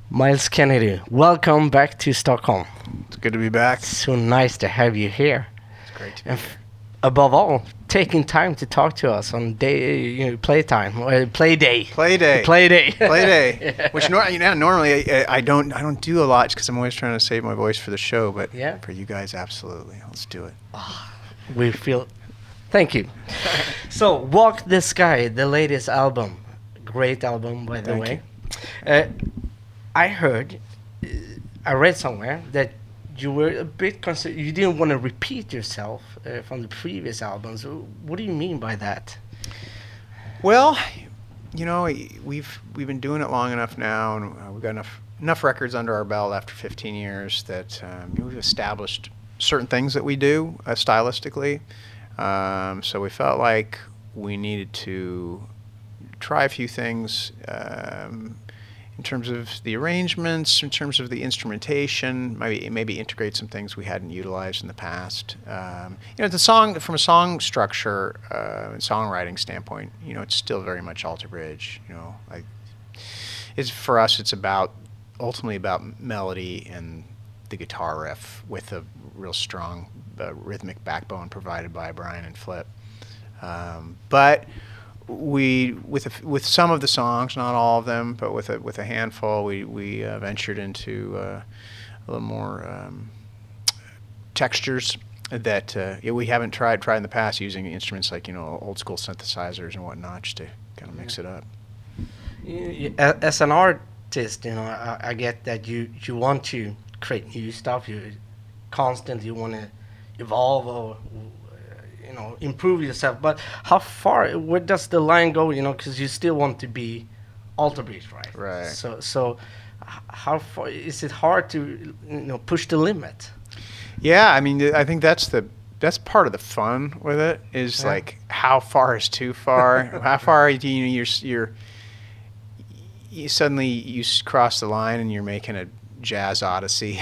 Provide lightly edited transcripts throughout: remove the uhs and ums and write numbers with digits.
Miles Kennedy, welcome back to Stockholm. It's good to be back. So nice to have you here. It's great to be And here. above all, taking time to talk to us on playtime, play day. Play day. Play day. Play day. Yeah. Which normally I don't do a lot because I'm always trying to save my voice for the show. But Yeah. for you guys, absolutely, let's do it. We feel. Thank you. So, Walk the Sky, the latest album. Great album, by the Thank way. I heard, I read somewhere that you were a bit you didn't want to repeat yourself from the previous albums. What do you mean by that? Well, we've been doing it long enough now, and we've got enough records under our belt after 15 years that we've established certain things that we do stylistically. So we felt like we needed to try a few things in terms of the arrangements, in terms of the instrumentation, maybe integrate some things we hadn't utilized in the past. The song, from a song structure and songwriting standpoint, it's still very much Alter Bridge. For us, it's ultimately about melody and the guitar riff with a real strong rhythmic backbone provided by Brian and Flip. But with some of the songs, not all of them, but with a handful, we ventured into a little more textures that we haven't tried in the past, using instruments like old school synthesizers and whatnot, just to kind of mix it up. As an artist, I get that you want to create new stuff. You constantly want to evolve or improve yourself. But where does the line go? Because you still want to be Alter Bridge, right? Right. So how far is it hard to push the limit? Yeah, I mean, I think that's part of the fun with it, is like, how far is too far? How far do you suddenly you cross the line and you're making a jazz odyssey,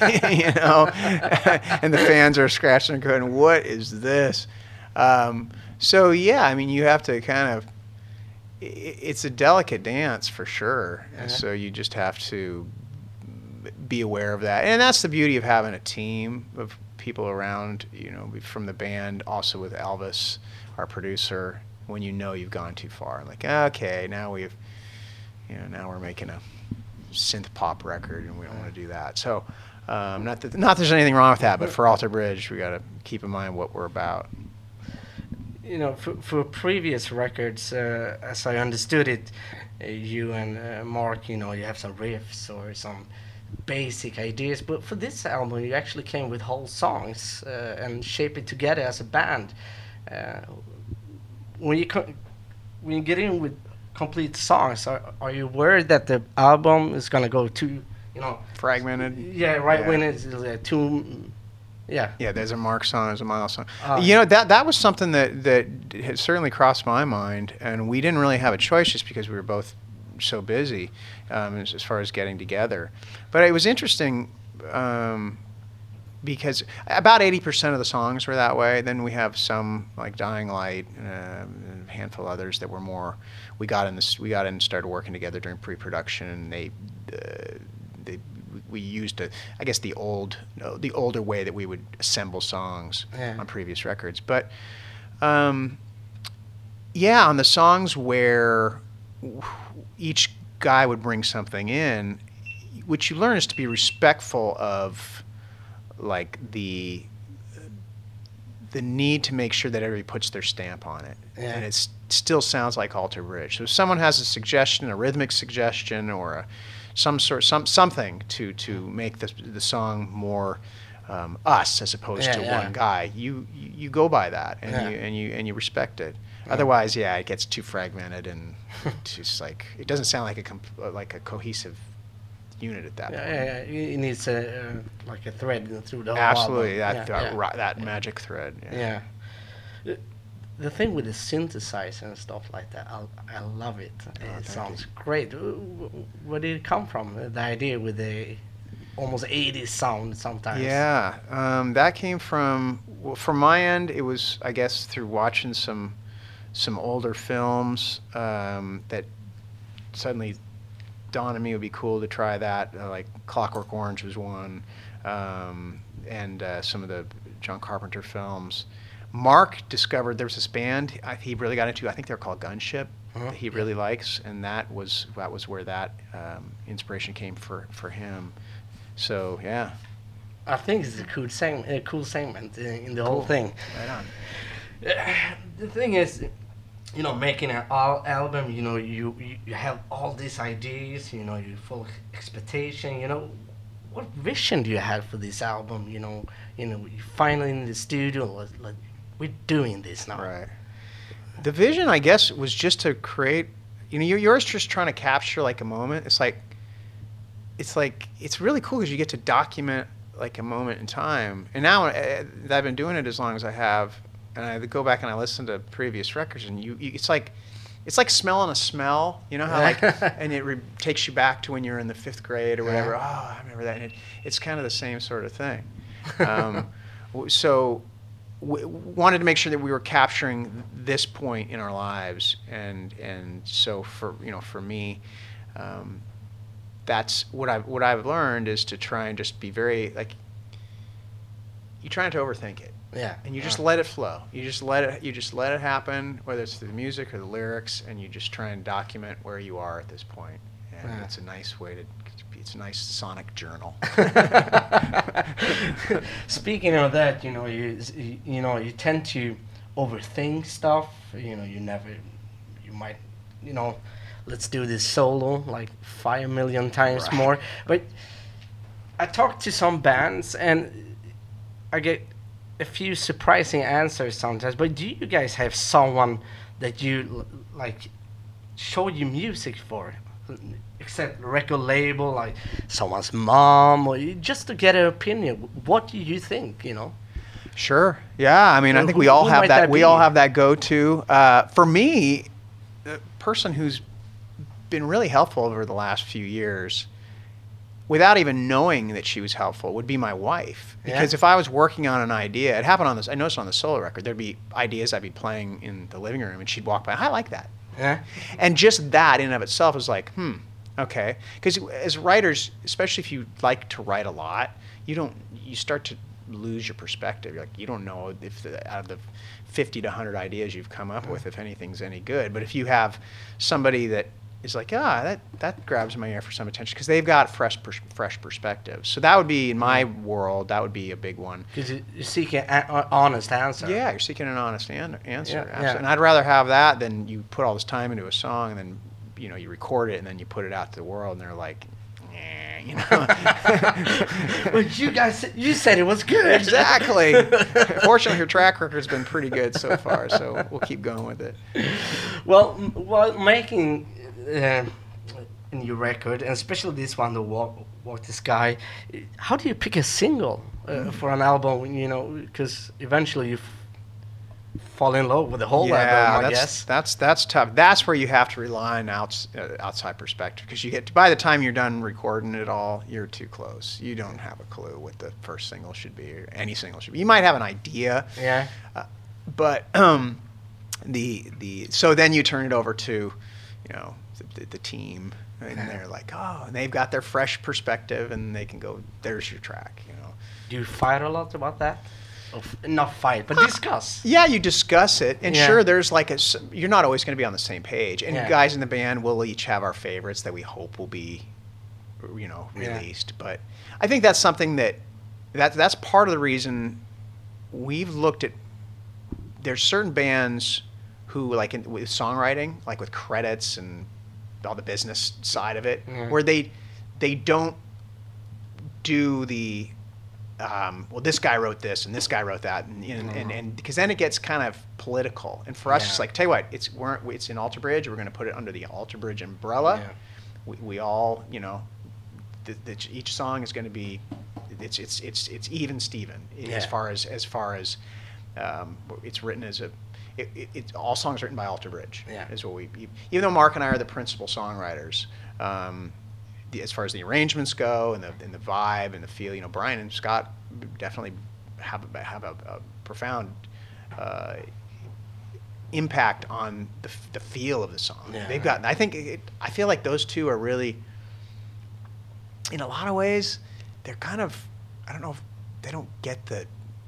and the fans are scratching and going, "What is this?" So yeah, I mean, you have to kind of. It's a delicate dance for sure, and so you just have to be aware of that, and that's the beauty of having a team of people around, from the band, also with Elvis, our producer. When you've gone too far, like, okay, now now we're making a synth pop record, and we don't want to do that. So, not that there's anything wrong with that, but for Alter Bridge, we got to keep in mind what we're about. For previous records, as I understood it, you and Mark, you have some riffs or some basic ideas, but for this album, you actually came with whole songs and shape it together as a band. When you get in with complete songs, are you worried that the album is gonna go too, fragmented? Yeah, right. Yeah. When it's too, yeah. Yeah, there's a Mark song, there's a Miles song. That was something that had certainly crossed my mind, and we didn't really have a choice just because we were both so busy as far as getting together. But it was interesting because about 80% of the songs were that way. Then we have some like Dying Light, and a handful of others that were more. We got in and started working together during pre-production, and we used the older way that we would assemble songs on previous records. But on the songs where each guy would bring something in, what you learn is to be respectful of like the need to make sure that everybody puts their stamp on it, and it still sounds like Alter Bridge. So if someone has a suggestion, a rhythmic suggestion, or something to make the song more us as opposed to one guy, you go by that, and you respect it. Otherwise, it gets too fragmented, and just like it doesn't sound like a cohesive unit at that point. It needs like a thread through the whole Absolutely, album. that magic thread. Yeah. The thing with the synthesizer and stuff like that, I love it. It sounds great. Where did it come from? The idea with the almost 80s sound sometimes. Yeah, that came from my end. It was, I guess, through watching some older films that suddenly dawned on me it would be cool to try that. Like Clockwork Orange was one, and some of the John Carpenter films. Mark discovered there was this band he really got into. I think they're called Gunship. That he really likes, and that was where that inspiration came for him. So yeah. I think it's a cool segment in the whole thing. Right on. The thing is, making an album, you have all these ideas, you're full of expectation, what vision do you have for this album? You're finally in the studio, we're doing this now. Right. The vision, I guess, was just to create, yours just trying to capture like a moment. It's really cool because you get to document like a moment in time. And now that I've been doing it as long as I have, and I go back and I listen to previous records, and it's like smelling a smell, how and it takes you back to when you were in the 5th grade or whatever. Oh, I remember that. And it's kind of the same sort of thing. So wanted to make sure that we were capturing this point in our lives, and so for me, that's what I've learned is to try and just be very you try not to overthink it. Yeah. And you just let it flow. You just let it happen, whether it's through the music or the lyrics, and you just try and document where you are at this point. And it's a nice sonic journal. Speaking of that, you tend to overthink stuff. You might, let's do this solo like 5 million times more. But I talked to some bands and I get a few surprising answers sometimes. But do you guys have someone that you show you music for? Except record label, like someone's mom, or just to get an opinion. What do you think? Sure. Yeah. I mean, I think we all have that. We all have that go-to. For me, the person who's been really helpful over the last few years, without even knowing that she was helpful, would be my wife. Because if I was working on an idea, it happened on this. I noticed on the solo record, there'd be ideas I'd be playing in the living room, and she'd walk by. I like that. Yeah. And just that in and of itself is like, okay. Because as writers, especially if you like to write a lot, you start to lose your perspective. You don't know if out of the 50 to 100 ideas you've come up with, if anything's any good. But if you have somebody that is like, that grabs my ear for some attention, because they've got fresh perspective. So that would be, in my world, that would be a big one. Because you're seeking an honest answer. Yeah, you're seeking an honest answer. Yeah. And I'd rather have that than you put all this time into a song and then you record it and then you put it out to the world and they're like, Well, you said it was good. Exactly. Fortunately, your track record's been pretty good so far, so we'll keep going with it. Well, while making a new record, and especially this one, the Walk the Sky, how do you pick a single for an album? Because eventually you fall in love with the whole album, I guess. That's tough. That's where you have to rely on outside perspective, because by the time you're done recording it all, you're too close. You don't have a clue what the first single should be or any single should be. You might have an idea. Yeah. But so then you turn it over to, the team, and they're like, and they've got their fresh perspective, and they can go, there's your track. Do you fight a lot about that? Not fight, but discuss. Yeah, you discuss it, and sure, there's you're not always going to be on the same page, and guys in the band will each have our favorites that we hope will be, released. But I think that's something that's part of the reason we've looked at. There's certain bands who, with songwriting, like with credits and all the business side of it, where they don't do the this guy wrote this and this guy wrote that, and because then it gets kind of political. And for us, it's like, tell you what, it's in Alter Bridge. We're going to put it under the Alter Bridge umbrella. Yeah. We all, each song is going to be, it's even Steven as far as it's written as all songs written by Alter Bridge. Yeah. Is what even though Mark and I are the principal songwriters. As far as the arrangements go and the vibe and the feel, Brian and Scott definitely have a profound impact on the feel of the song. Yeah. They've got. I feel like those two are really in a lot of ways, they're kind of, I don't know if they don't get the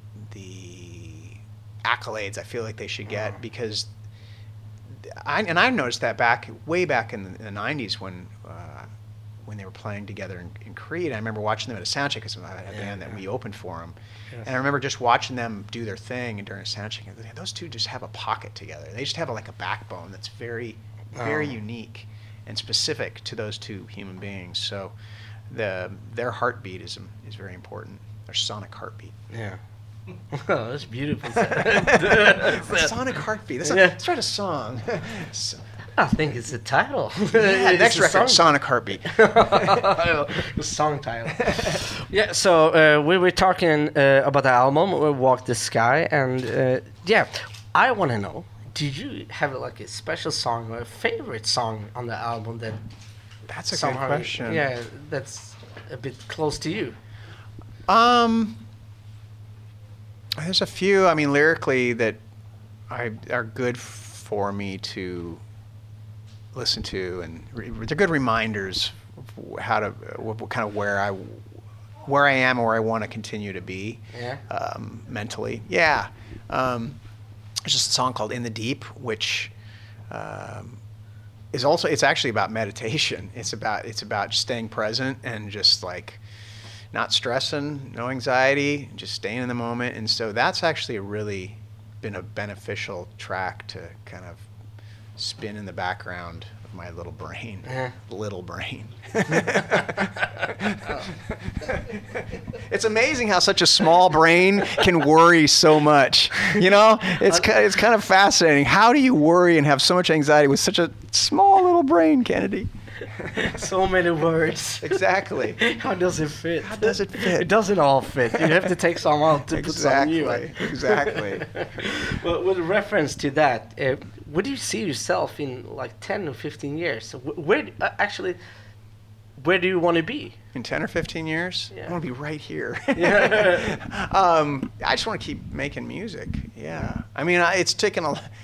accolades I feel like they should get, because I've noticed that way back in the 90s when they were playing together in Creed. I remember watching them at a soundcheck because I had a band that we opened for them. Yes. And I remember just watching them do their thing and during a soundcheck. And those two just have a pocket together. They just have like a backbone that's very, very unique and specific to those two human beings. So their heartbeat is very important. Their sonic heartbeat. Yeah. Oh, that's beautiful. Sonic heartbeat. Let's write a song. I think it's the title. Yeah, next record, Sonic Heartbeat. The song title. Yeah, so we were talking about the album, Walk the Sky, and I want to know, did you have like a special song or a favorite song on the album that... That's a good question. Yeah, that's a bit close to you. There's a few, I mean, lyrically that are good for me to listen to, and they're good reminders of how to, kind of where I am or where I want to continue to be. Yeah. Mentally. Yeah. There's just a song called In the Deep, which is also, it's actually about meditation. It's about staying present and just like not stressing, no anxiety, just staying in the moment. And so that's actually really been a beneficial track to kind of spin in the background of my little brain. Little brain. It's amazing how such a small brain can worry so much. You know, it's kind of fascinating. How do you worry and have so much anxiety with such a small little brain, Kennedy? So many words. Exactly. How does it fit? How does it fit? It doesn't all fit. You have to take some out to put some new. Exactly. Well, with reference to that, where do you see yourself in like 10 or 15 years? Where do you want to be? In 10 or 15 years? Yeah. I want to be right here. Yeah. I just want to keep making music. Yeah. I mean, it's taken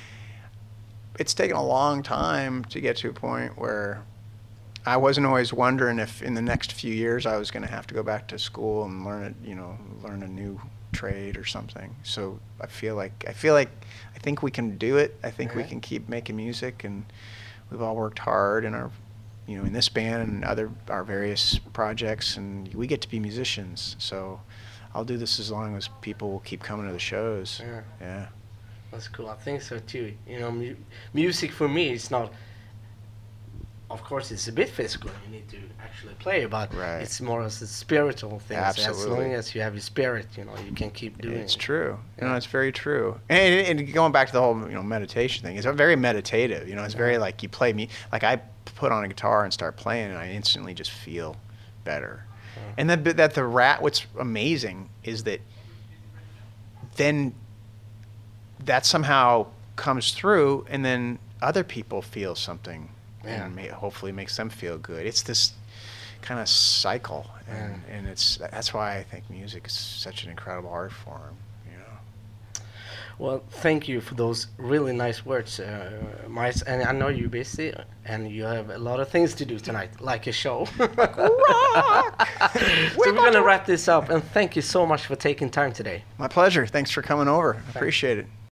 a long time to get to a point where I wasn't always wondering if in the next few years I was going to have to go back to school and learn a new trade or something. So I think we can do it. I think we can keep making music, and we've all worked hard in our, in this band and our various projects, and we get to be musicians. So I'll do this as long as people will keep coming to the shows. Yeah. That's cool. I think so too. Music for me is not. Of course, it's a bit physical. You need to actually play, but it's more as a spiritual thing. Absolutely. So as long as you have your spirit, you can keep doing it. It's true. It's very true. And going back to the whole, meditation thing, it's very meditative. It's very like you play like I put on a guitar and start playing, and I instantly just feel better. And what's amazing is that then that somehow comes through, and then other people feel something. And hopefully makes them feel good. It's this kind of cycle, and that's why I think music is such an incredible art form. Well, thank you for those really nice words, Miles. And I know you're busy, and you have a lot of things to do tonight, like a show. So we're going to wrap this up, and thank you so much for taking time today. My pleasure. Thanks for coming over. I appreciate it.